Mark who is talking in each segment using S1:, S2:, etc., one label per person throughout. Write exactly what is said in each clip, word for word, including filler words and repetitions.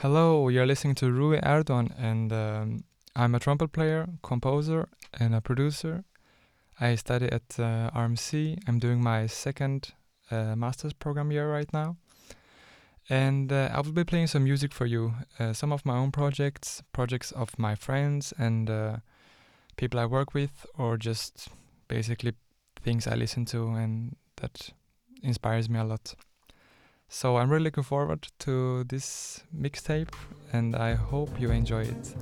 S1: Hello, you're listening to Rui Erdogan, and um, I'm a trumpet player, composer, and a producer. I study at uh, R M C. I'm doing my second uh, master's program year right now. And uh, I will be playing some music for you. Uh, some of my own projects, projects of my friends and uh, people I work with, or just basically things I listen to and that inspires me a lot. So I'm really looking forward to this mixtape, and I hope you enjoy it.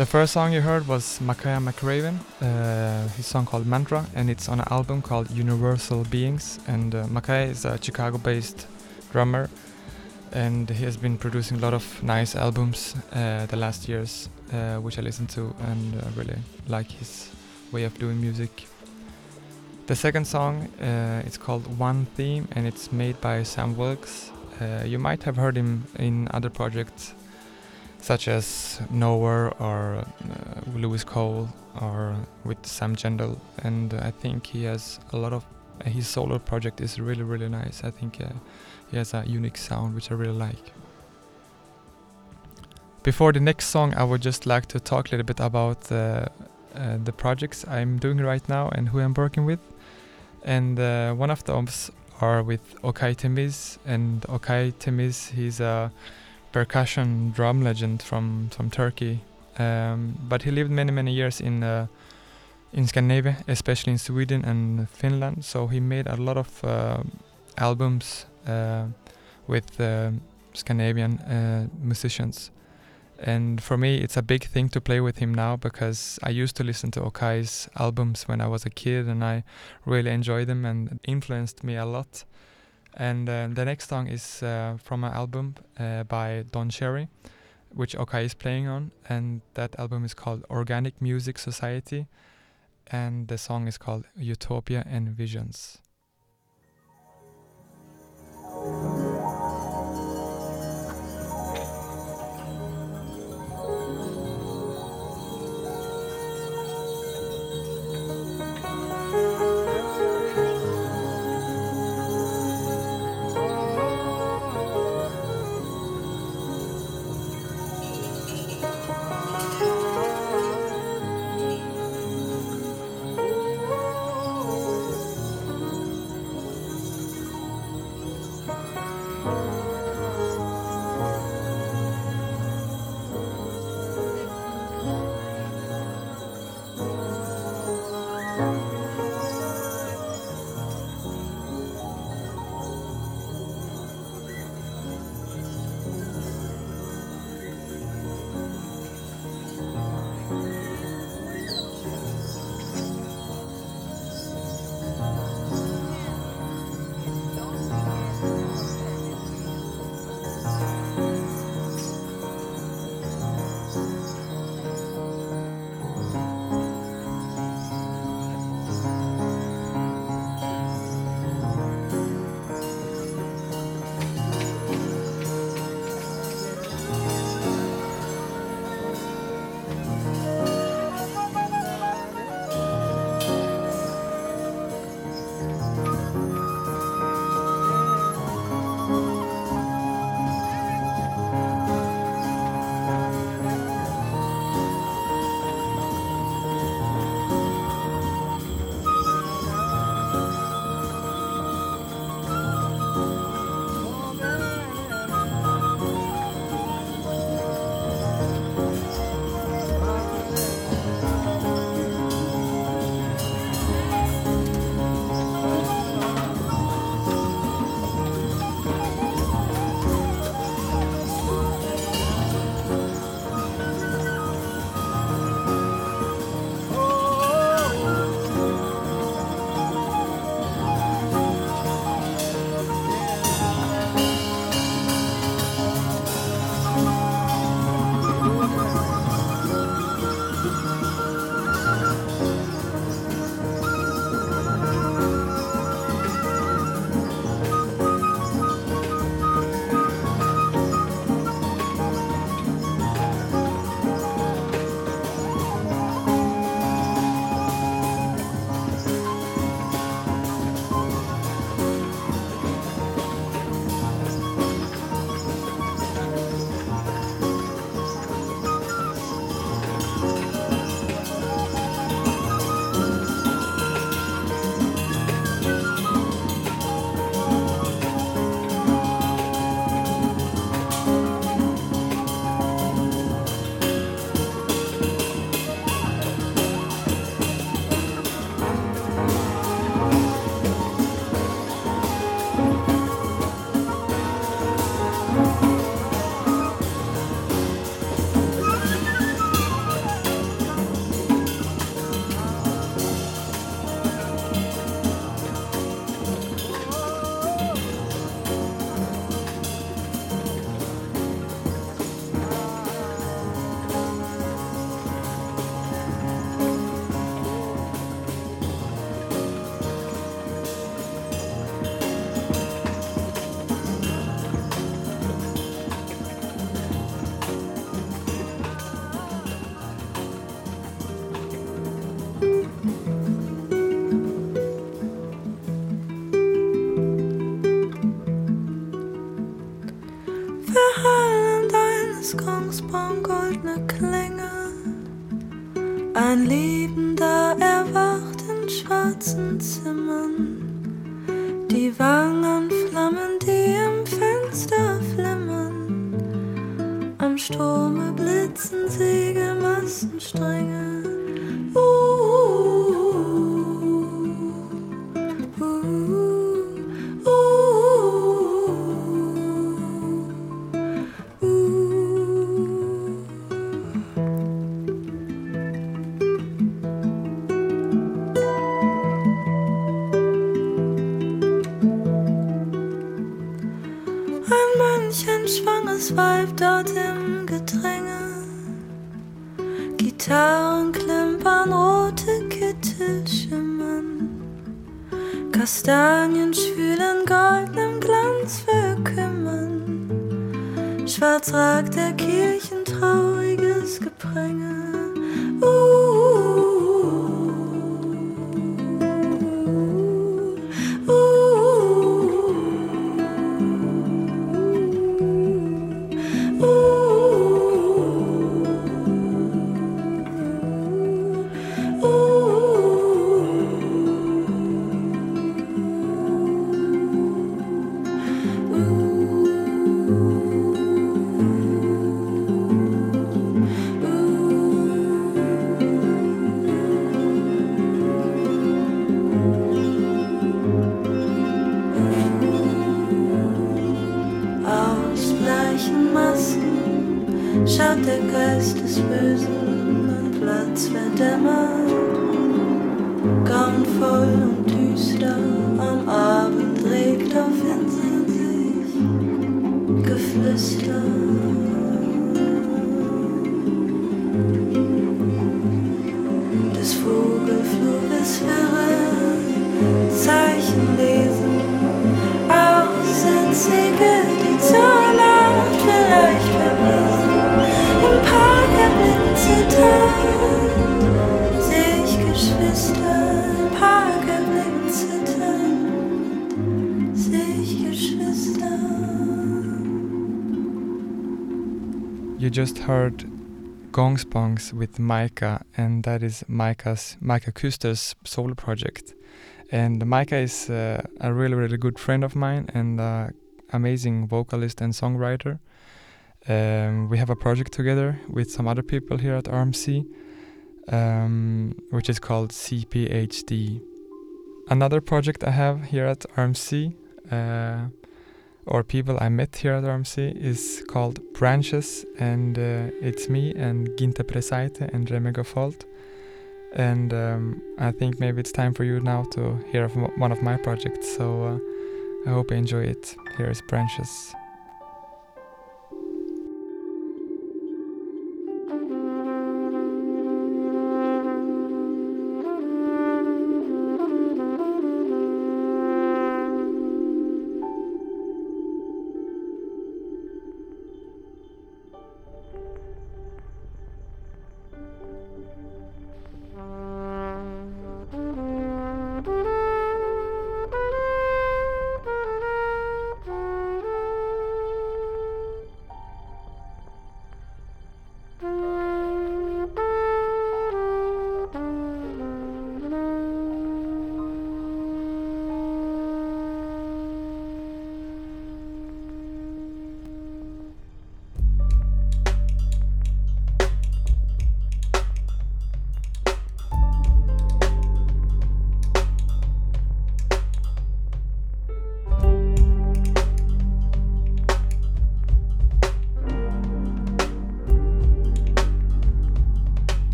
S1: The first song you heard was Makaya McRaven, uh, his song called Mantra, and it's on an album called Universal Beings. And uh, Makaya is a Chicago-based drummer, and he has been producing a lot of nice albums uh, the last years, uh, which I listen to and uh, really like his way of doing music. The second song, uh, it's called One Theme, and it's made by Sam Wilkes. Uh, you might have heard him in other projects such as Nowhere or uh, Lewis Cole or with Sam Gendel, and uh, I think he has a lot of uh, his solo project is really really nice. I think uh, he has a unique sound which I really like. Before the next song, I would just like to talk a little bit about uh, uh, the projects I'm doing right now and who I'm working with. And uh, one of those are with Okay Temiz, and Okay Temiz, he's a percussion drum legend from from Turkey, um, but he lived many many years in uh, in Scandinavia, especially in Sweden and Finland. So he made a lot of uh, albums uh, with uh, Scandinavian uh, musicians. And for me, it's a big thing to play with him now, because I used to listen to Okai's albums when I was a kid, and I really enjoyed them and it influenced me a lot. And uh, the next song is uh, from an album uh, by Don Cherry, which Okai is playing on, and that album is called Organic Music Society, and the song is called Utopia and Visions.
S2: des Kongsbrong goldne Klänge. Ein Liebender erwacht in schwarzen Zimmern, die Wangenflammen, die im Fenster flimmern. Am Strome blitzen Segelmastenstränge. Uh, uh, uh, uh, Ein Mönch, ein schwanges Weib dort im Gedränge. Gitarren klimpern, rote Kittel schimmern. Kastanien schwülen, goldenem Glanz verkümmern. Schwarz ragt der Kirchen trauriges Gepränge. Uh, uh, uh, uh. Aus bleichen Masken schaut der Geist des Bösen, ein Platz verdämmert, grauenvoll und düster. Am Abend regt auf Inseln sich Geflüster. Des Vogelfluges Wirre, Zeichen lesen, Aussätzige, die zur Nacht vielleicht vermissen. Im Park erblicken zittern, seh ich Geschwister. Im Park erblicken zittern, seh ich Geschwister.
S1: You just heard Gongspongs with Micah, and that is Micah's Micah Kuster's solo project. And Micah is uh, a really, really good friend of mine and uh, amazing vocalist and songwriter. Um, we have a project together with some other people here at R M C, um, which is called C P H D. Another project I have here at R M C, uh, or people I met here at R M C, is called Branches, and uh, it's me and Ginte Presaite and Reme Gafolt. And um, I think maybe it's time for you now to hear of m- one of my projects, so uh, I hope you enjoy it. Here is Branches.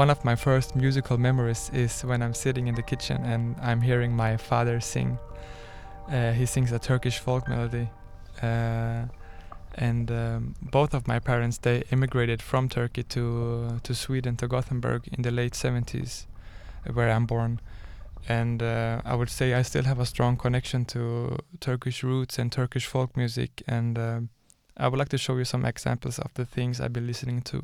S1: one of my first musical memories is when I'm sitting in the kitchen and I'm hearing my father sing. Uh, he sings a Turkish folk melody. Uh, and um, both of my parents, they immigrated from Turkey to to Sweden, to Gothenburg in the late seventies, where I'm born. And uh, I would say I still have a strong connection to Turkish roots and Turkish folk music. And uh, I would like to show you some examples of the things I've been listening to.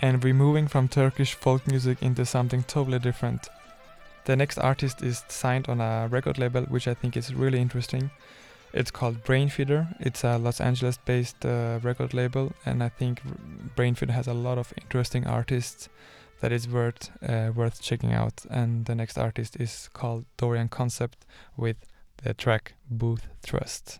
S1: and we're moving from Turkish folk music into something totally different. The next artist is signed on a record label, which I think is really interesting. It's called Brainfeeder. It's a Los Angeles-based uh, record label, and I think Brainfeeder has a lot of interesting artists that is worth uh, worth checking out. And the next artist is called Dorian Concept with the track Booth Trust.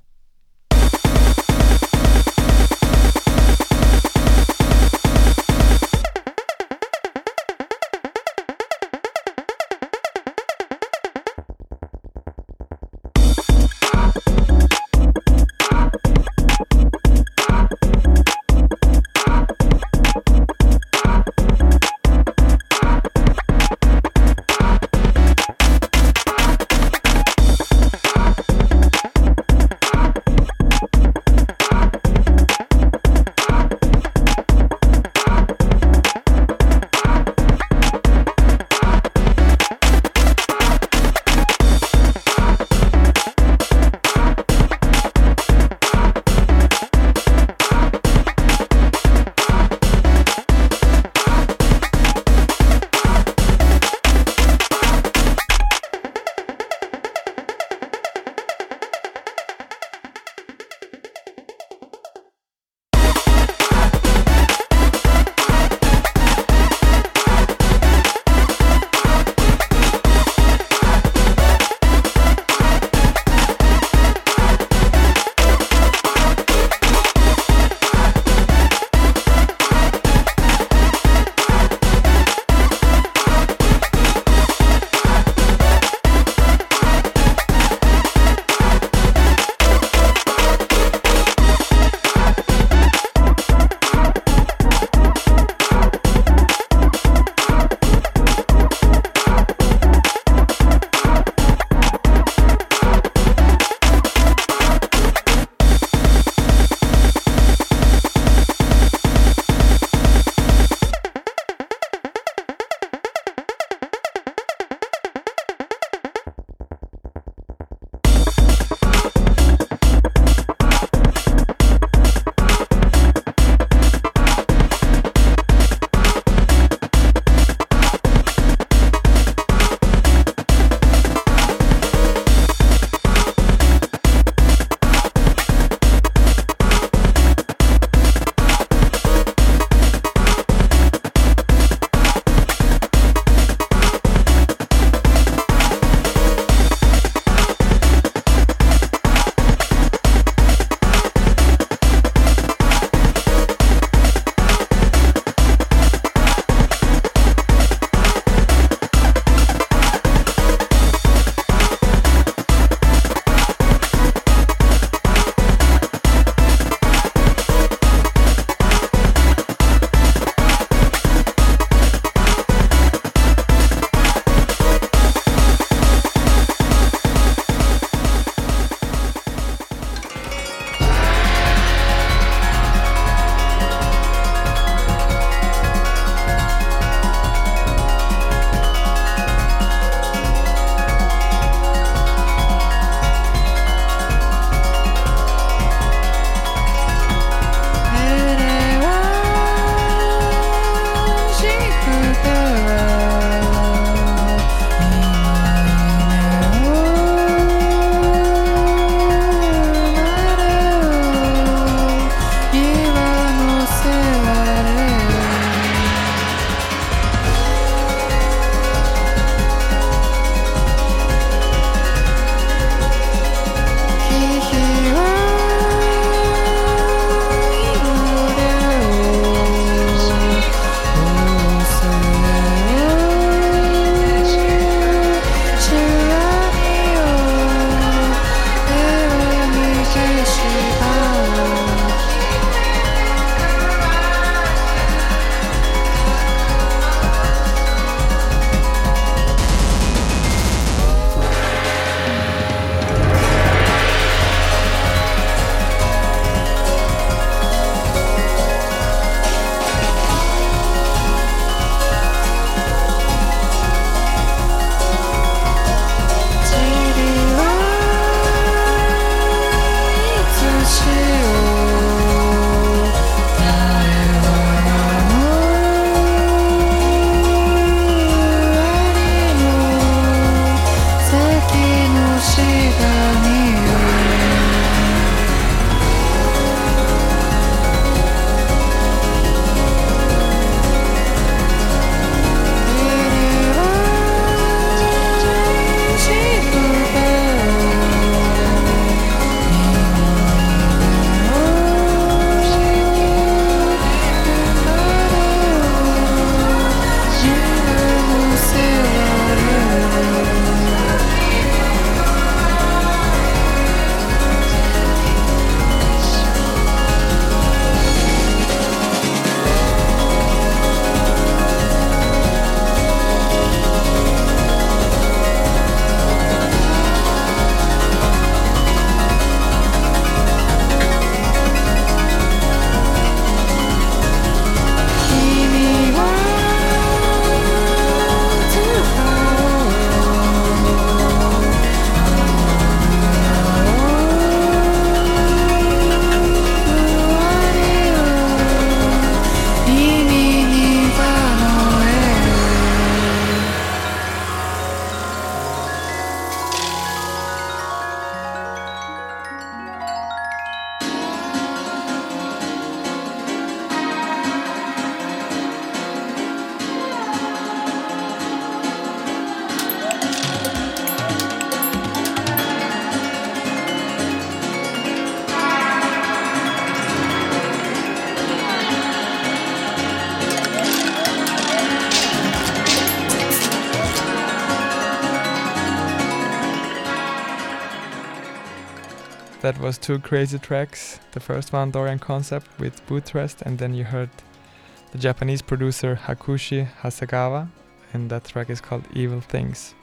S1: That was two crazy tracks. The first one, Dorian Concept with Bootrest, and then you heard the Japanese producer Hakushi Hasegawa, and that track is called Evil Things.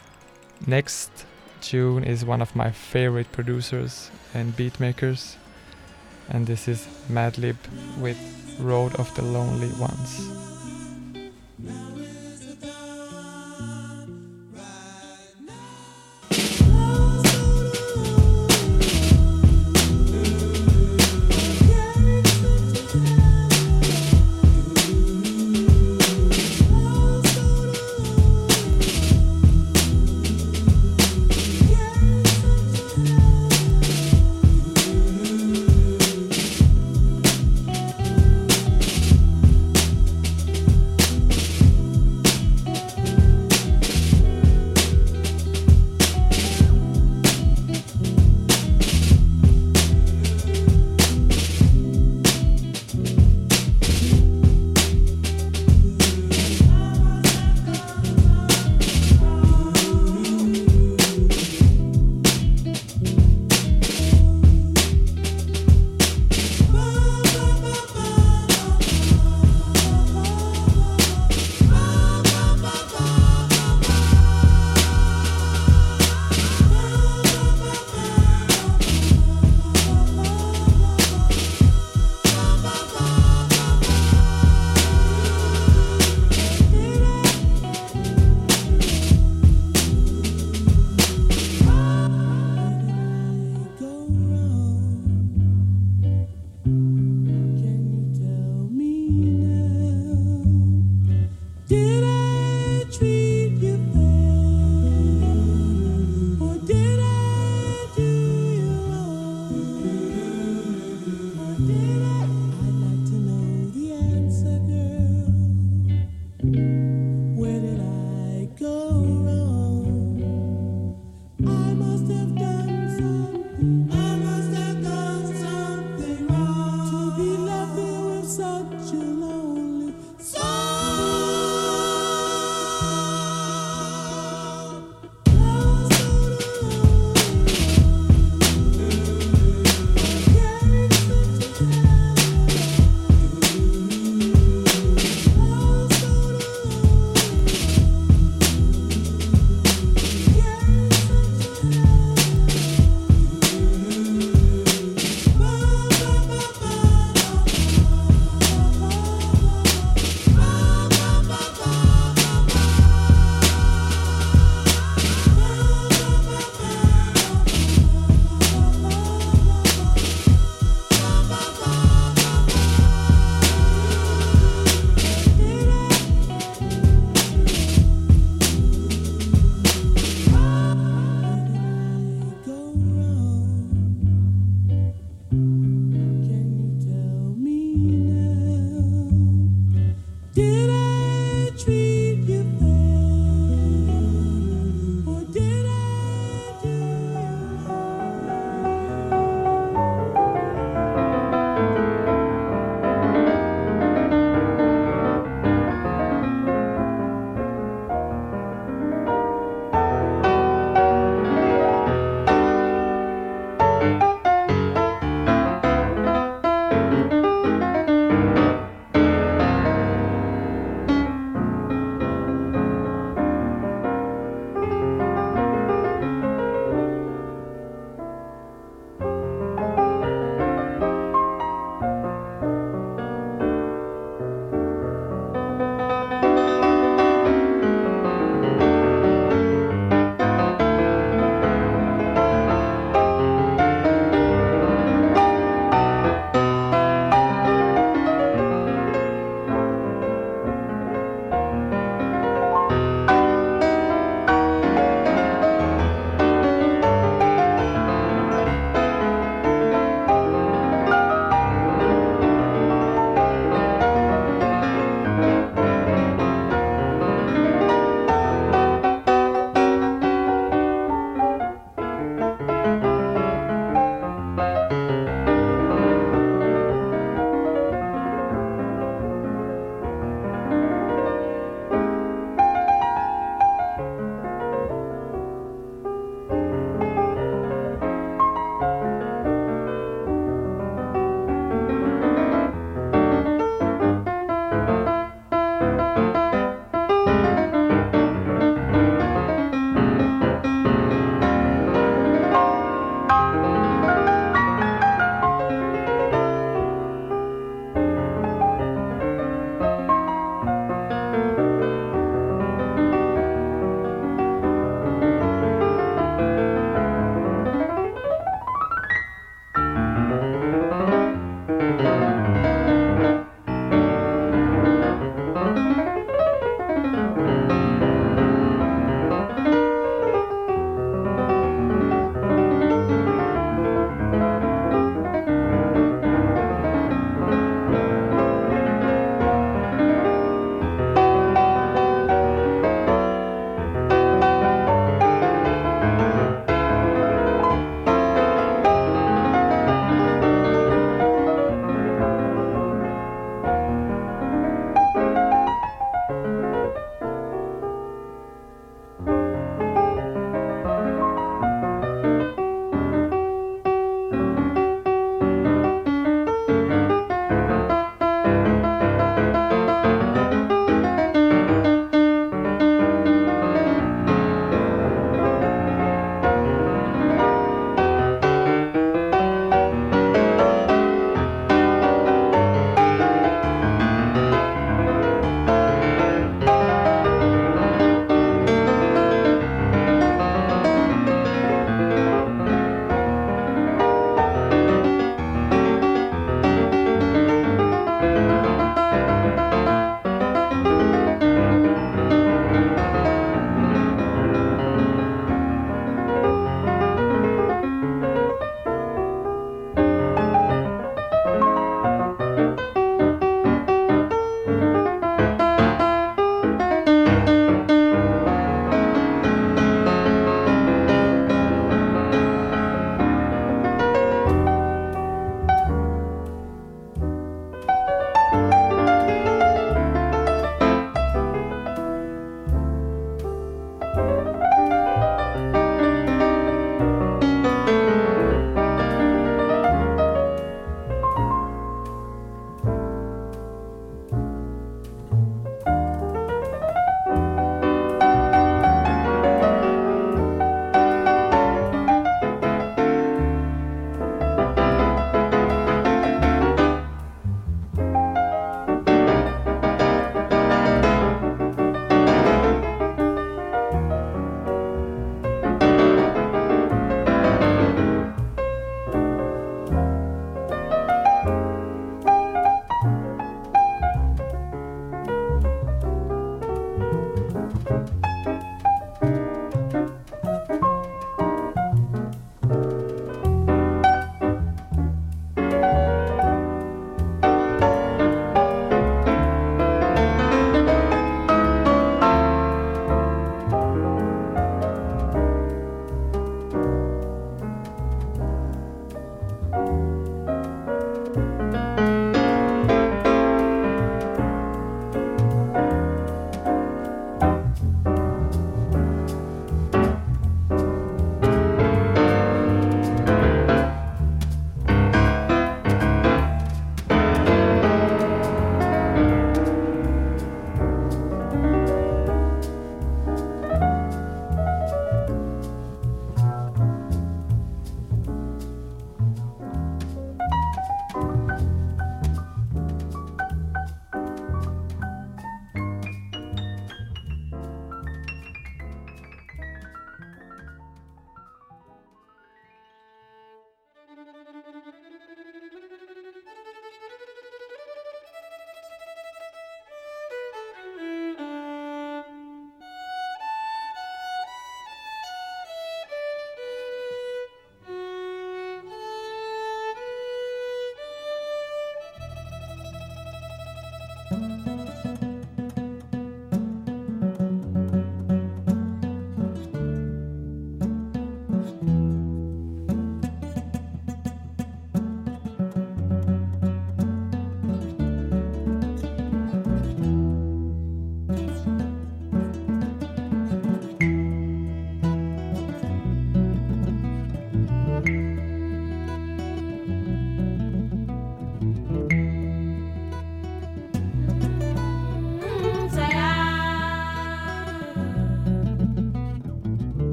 S1: Next tune is one of my favorite producers and beatmakers, and this is Madlib with Road of the Lonely Ones.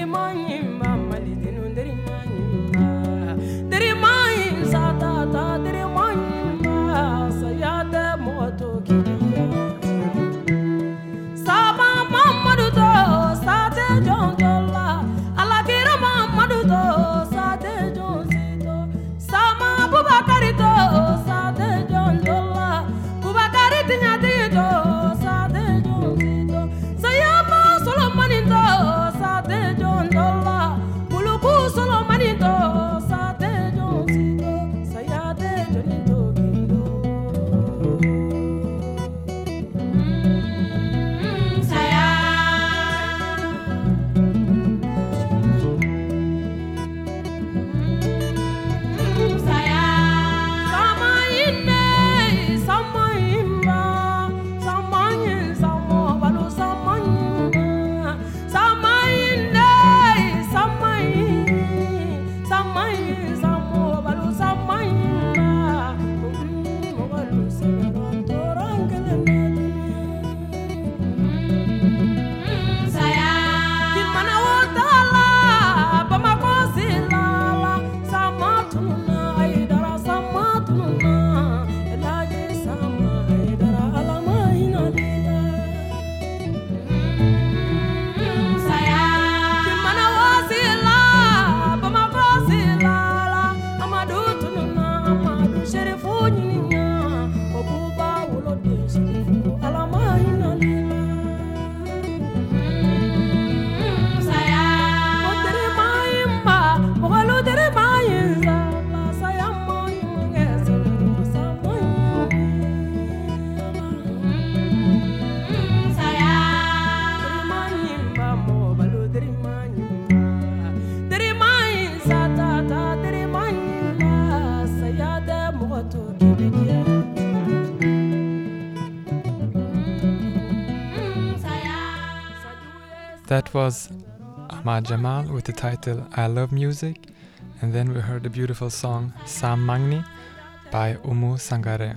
S1: That was Ahmad Jamal with the title I Love Music, and then we heard the beautiful song Sam Magni by Umu Sangare.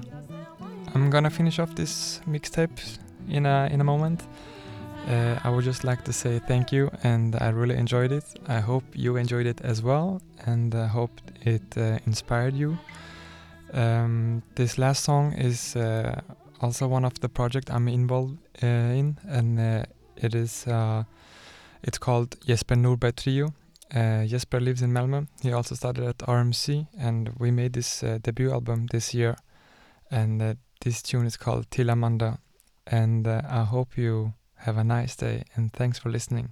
S1: I'm gonna finish off this mixtape in a in a moment. Uh, I would just like to say thank you, and I really enjoyed it. I hope you enjoyed it as well, and I hope it uh, inspired you. Um, this last song is uh, also one of the project I'm involved uh, in, and uh, it is uh, it's called Jesper Norberg Trio. Uh, Jesper lives in Malmö. He also started at R M C, and we made this uh, debut album this year. And uh, this tune is called Till Amanda. And uh, I hope you have a nice day, and thanks for listening.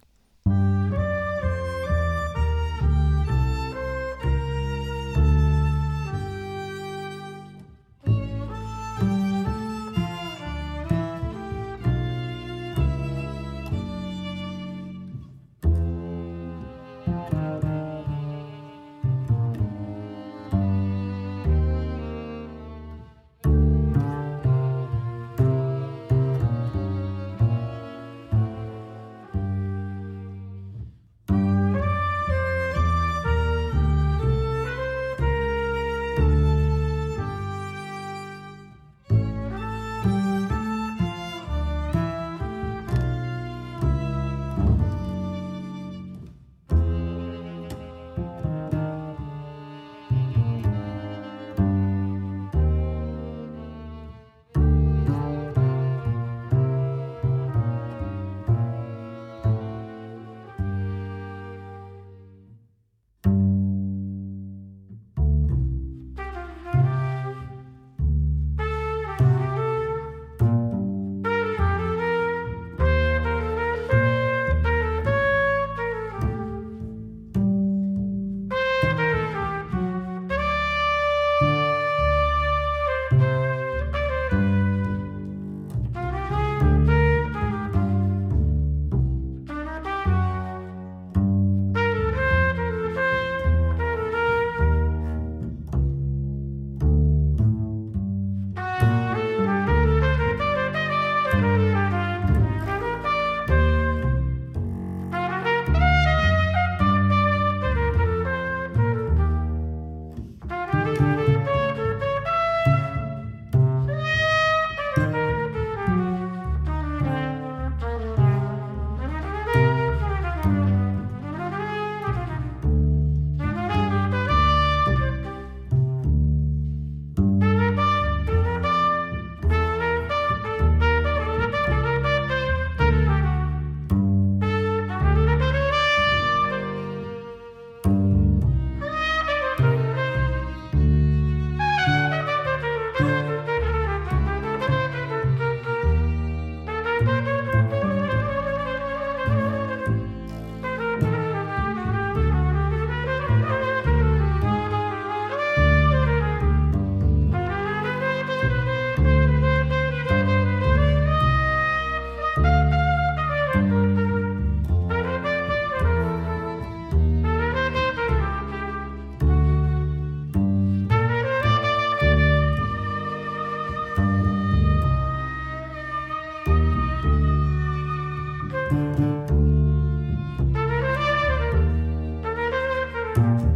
S2: Thank